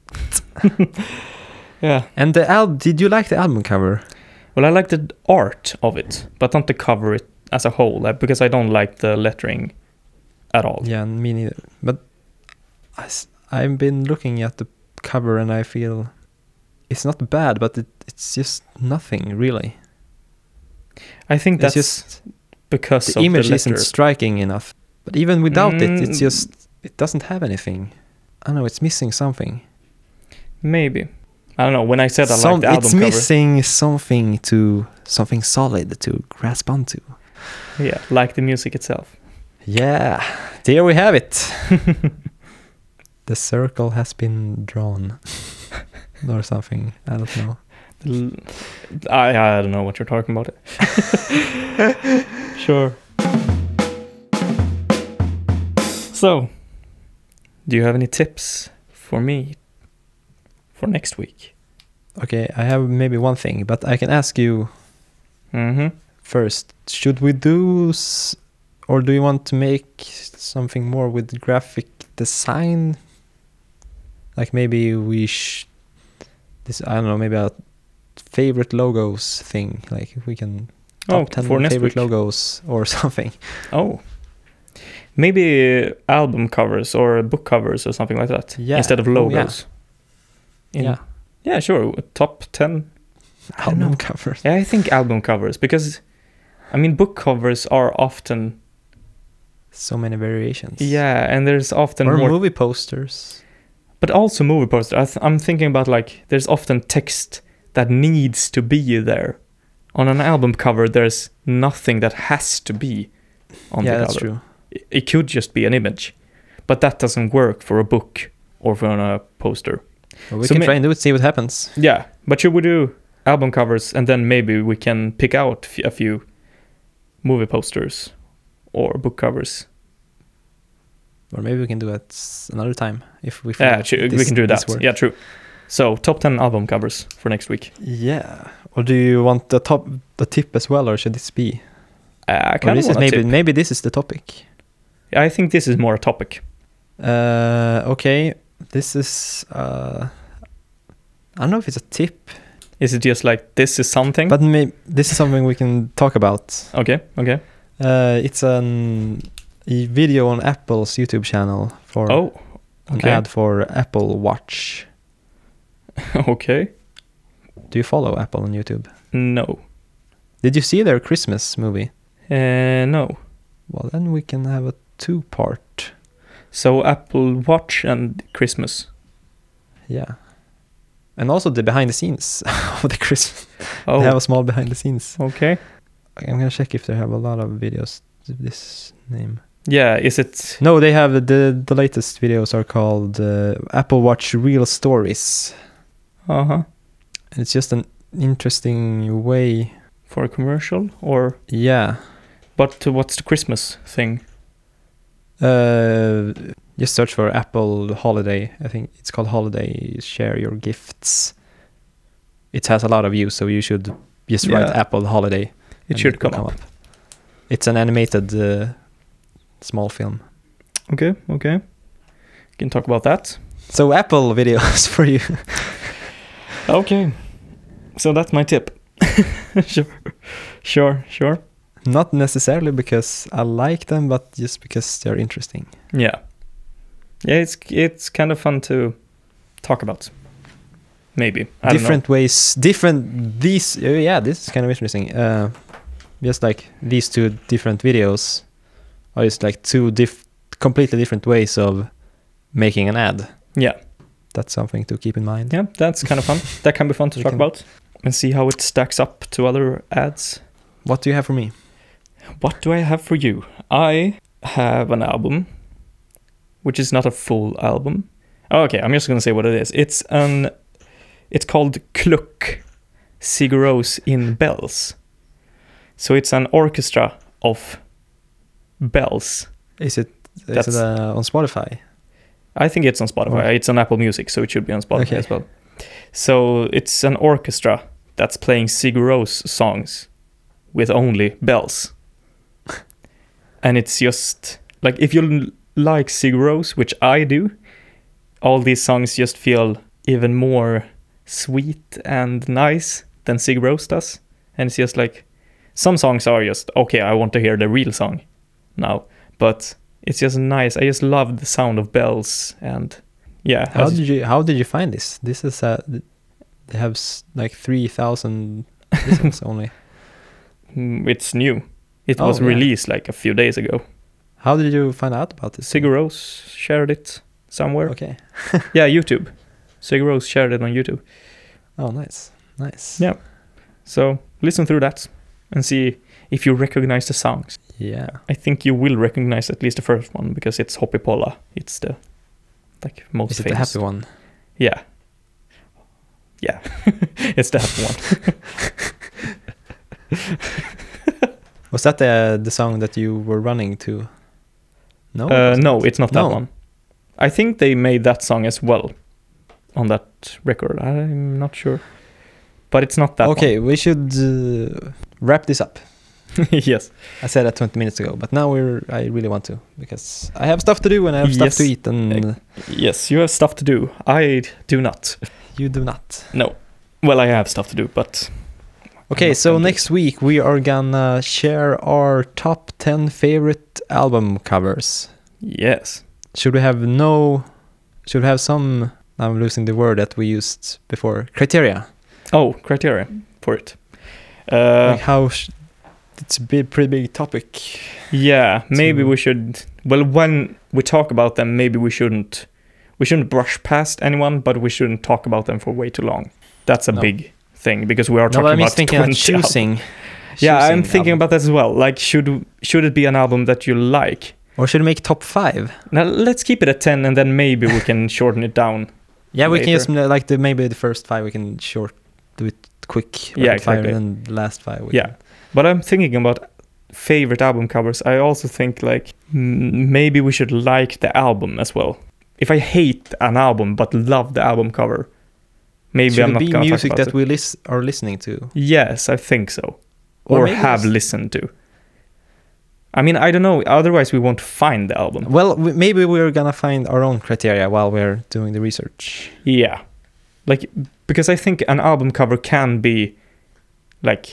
Yeah. And did you like the album cover? Well, I like the art of it, but not the cover it as a whole, because I don't like the lettering at all. Yeah, me neither. But I've been looking at the cover and I feel it's not bad, but it's just nothing really. I think that's just because the of image the isn't striking enough. But even without it doesn't have anything. I don't know, it's missing something. Maybe. I don't know. When I said I like the album it's cover, missing something solid to grasp onto. Yeah, like the music itself. Yeah, there we have it. The circle has been drawn, or something. I don't know. I don't know what you're talking about. Sure. So, do you have any tips for me for next week? Okay, I have maybe one thing, but I can ask you first. Should we do, or do you want to make something more with graphic design? Like maybe I don't know, maybe a favorite logos thing. Like if we can top 10 favorite logos or something. Oh. Maybe album covers or book covers or something like that. Yeah. Instead of logos. Yeah, sure. Top 10 album covers. Yeah, I think album covers, because I mean book covers are often so many variations. Yeah, and there's often more movie posters. But also movie posters. I'm thinking about like there's often text that needs to be there. On an album cover, there's nothing that has to be on the cover. Yeah, that's true. It could just be an image, but that doesn't work for a book or for a poster. Well, we can try and do it, see what happens. Yeah, but should we do album covers and then maybe we can pick out a few movie posters or book covers? Or maybe we can do it another time if we. Yeah, we can do that. Yeah, true. So top 10 album covers for next week. Yeah. Or do you want the tip as well, or should this be? I kind of want maybe this is the topic. I think this is more a topic. Okay. This is I don't know if it's a tip. Is it just like this is something? But maybe this is something we can talk about. Okay. It's a video on Apple's YouTube channel for an ad for Apple Watch. Okay. Do you follow Apple on YouTube? No. Did you see their Christmas movie? No. Well, then we can have a 2-part. So Apple Watch and Christmas. Yeah. And also the behind the scenes of the Christmas. Oh. They have a small behind the scenes. Okay. I'm going to check if they have a lot of videos with this name. Yeah, is it... No, they have the latest videos are called Apple Watch Real Stories. Uh-huh. And it's just an interesting way... For a commercial, or... Yeah. But what's the Christmas thing? Just search for Apple Holiday. I think it's called Holiday Share Your Gifts. It has a lot of views, so you should just write Apple Holiday. It should come up. It's an animated small film. Okay. We can talk about that. So Apple videos for you. Okay. So that's my tip. Sure. Not necessarily because I like them, but just because they're interesting. Yeah, it's kind of fun to talk about. Maybe different ways, this is kind of interesting. Just like these two different videos are just like two completely different ways of making an ad. Yeah. That's something to keep in mind. Yeah, that's kind of fun. That can be fun to talk about and see how it stacks up to other ads. What do you have for me? What do I have for you? I have an album, which is not a full album. Okay, I'm just gonna say what it is. It's called Kluck, Sigur Rós in Bells. So it's an orchestra of bells. Is it on Spotify? I think it's on Spotify. Oh. It's on Apple Music, so it should be on Spotify as well. So it's an orchestra that's playing Sigur Rós songs with only bells. And it's just like, if you like Sigur Rós, which I do, all these songs just feel even more sweet and nice than Sigur Rós does. And it's just like, some songs are just, okay, I want to hear the real song now. But it's just nice. I just love the sound of bells. And yeah. How did you find this? This is they have like 3,000 listens only. It's new. It was released like a few days ago. How did you find out about this? Sigur Rós shared it somewhere. Okay. Yeah, YouTube. Sigur Rós shared it on YouTube. Oh, nice. Yeah. So listen through that and see if you recognize the songs. Yeah. I think you will recognize at least the first one because it's Hoppy-Polla. It's the most Is it famous. the happy one? Yeah. Yeah. It's the happy one. Was that the song that you were running to? No? No, it's not that No. one. I think they made that song as well on that record. I'm not sure. But it's not that one. Okay, we should wrap this up. Yes. I said that 20 minutes ago, but now I really want to, because I have stuff to do and I have stuff to eat, and Yes, you have stuff to do. I do not. you do not. No. Well, I have stuff to do, but... Okay, so next week we are gonna share our top 10 favorite album covers. Yes. Should we have some, I'm losing the word that we used before, criteria? Oh, criteria for it. Like it's a pretty big topic. Yeah, maybe we should... Well, when we talk about them, maybe we shouldn't brush past anyone, but we shouldn't talk about them for way too long. That's a big thing, because we are talking about thinking of choosing. Yeah, I'm thinking about that as well. Like, should it be an album that you like? Or should we make top 5? Now, let's keep it at 10, and then maybe we can shorten it down. Yeah, we later. can just, like, maybe the first 5 we can do it quick. Yeah, fire, exactly. and then last 5 we can. But I'm thinking about favorite album covers. I also think, like, maybe we should like the album as well. If I hate an album but love the album cover, maybe should I'm not it be gonna music talk about that we are listening to? Yes, I think so. Or Or maybe have listened to. I mean, I don't know. Otherwise, we won't find the album. Well, maybe we're gonna find our own criteria while we're doing the research. Yeah. Like, because I think an album cover can be, like,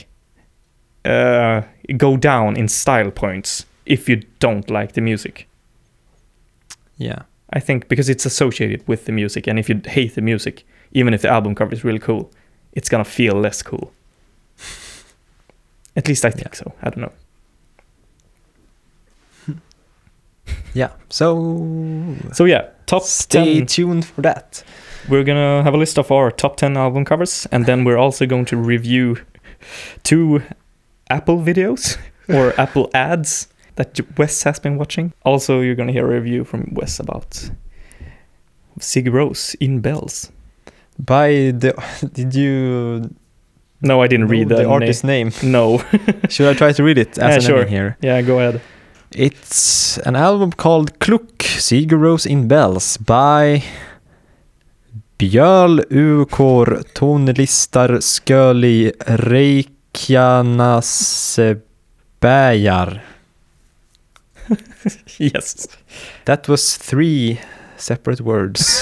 go down in style points if you don't like the music. Yeah. I think because it's associated with the music, and if you hate the music, even if the album cover is really cool, it's gonna feel less cool. At least I think so. I don't know. Yeah. So yeah, top stay 10. tuned for that. We're gonna have a list of our top 10 album covers, and then we're also going to review 2 Apple videos or Apple ads that Wes has been watching. Also, you're gonna hear a review from Wes about Sigur Rós in Bells. Did you? No, I didn't read the artist name. No. Should I try to read it as sure. name here? Yeah, go ahead. It's an album called Kluck, Sigur Rós in Bells by Björl Ukor Tonlistar Sköli Reykjanasbergar. Yes. That was 3 separate words.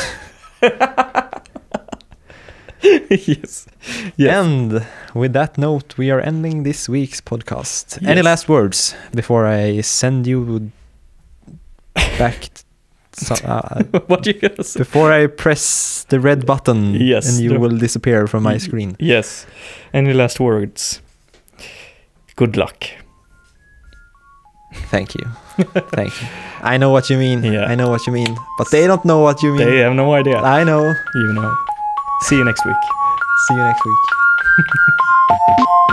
Yes. And with that note, we are ending this week's podcast. Yes. Any last words before I send you back? What you gonna say? Before I press the red button, Yes, and you will disappear from my screen. Yes. Any last words? Good luck. Thank you. Thank you. I know what you mean. Yeah. I know what you mean. But they don't know what you mean. They have no idea. I know. You know. See you next week. See you next week.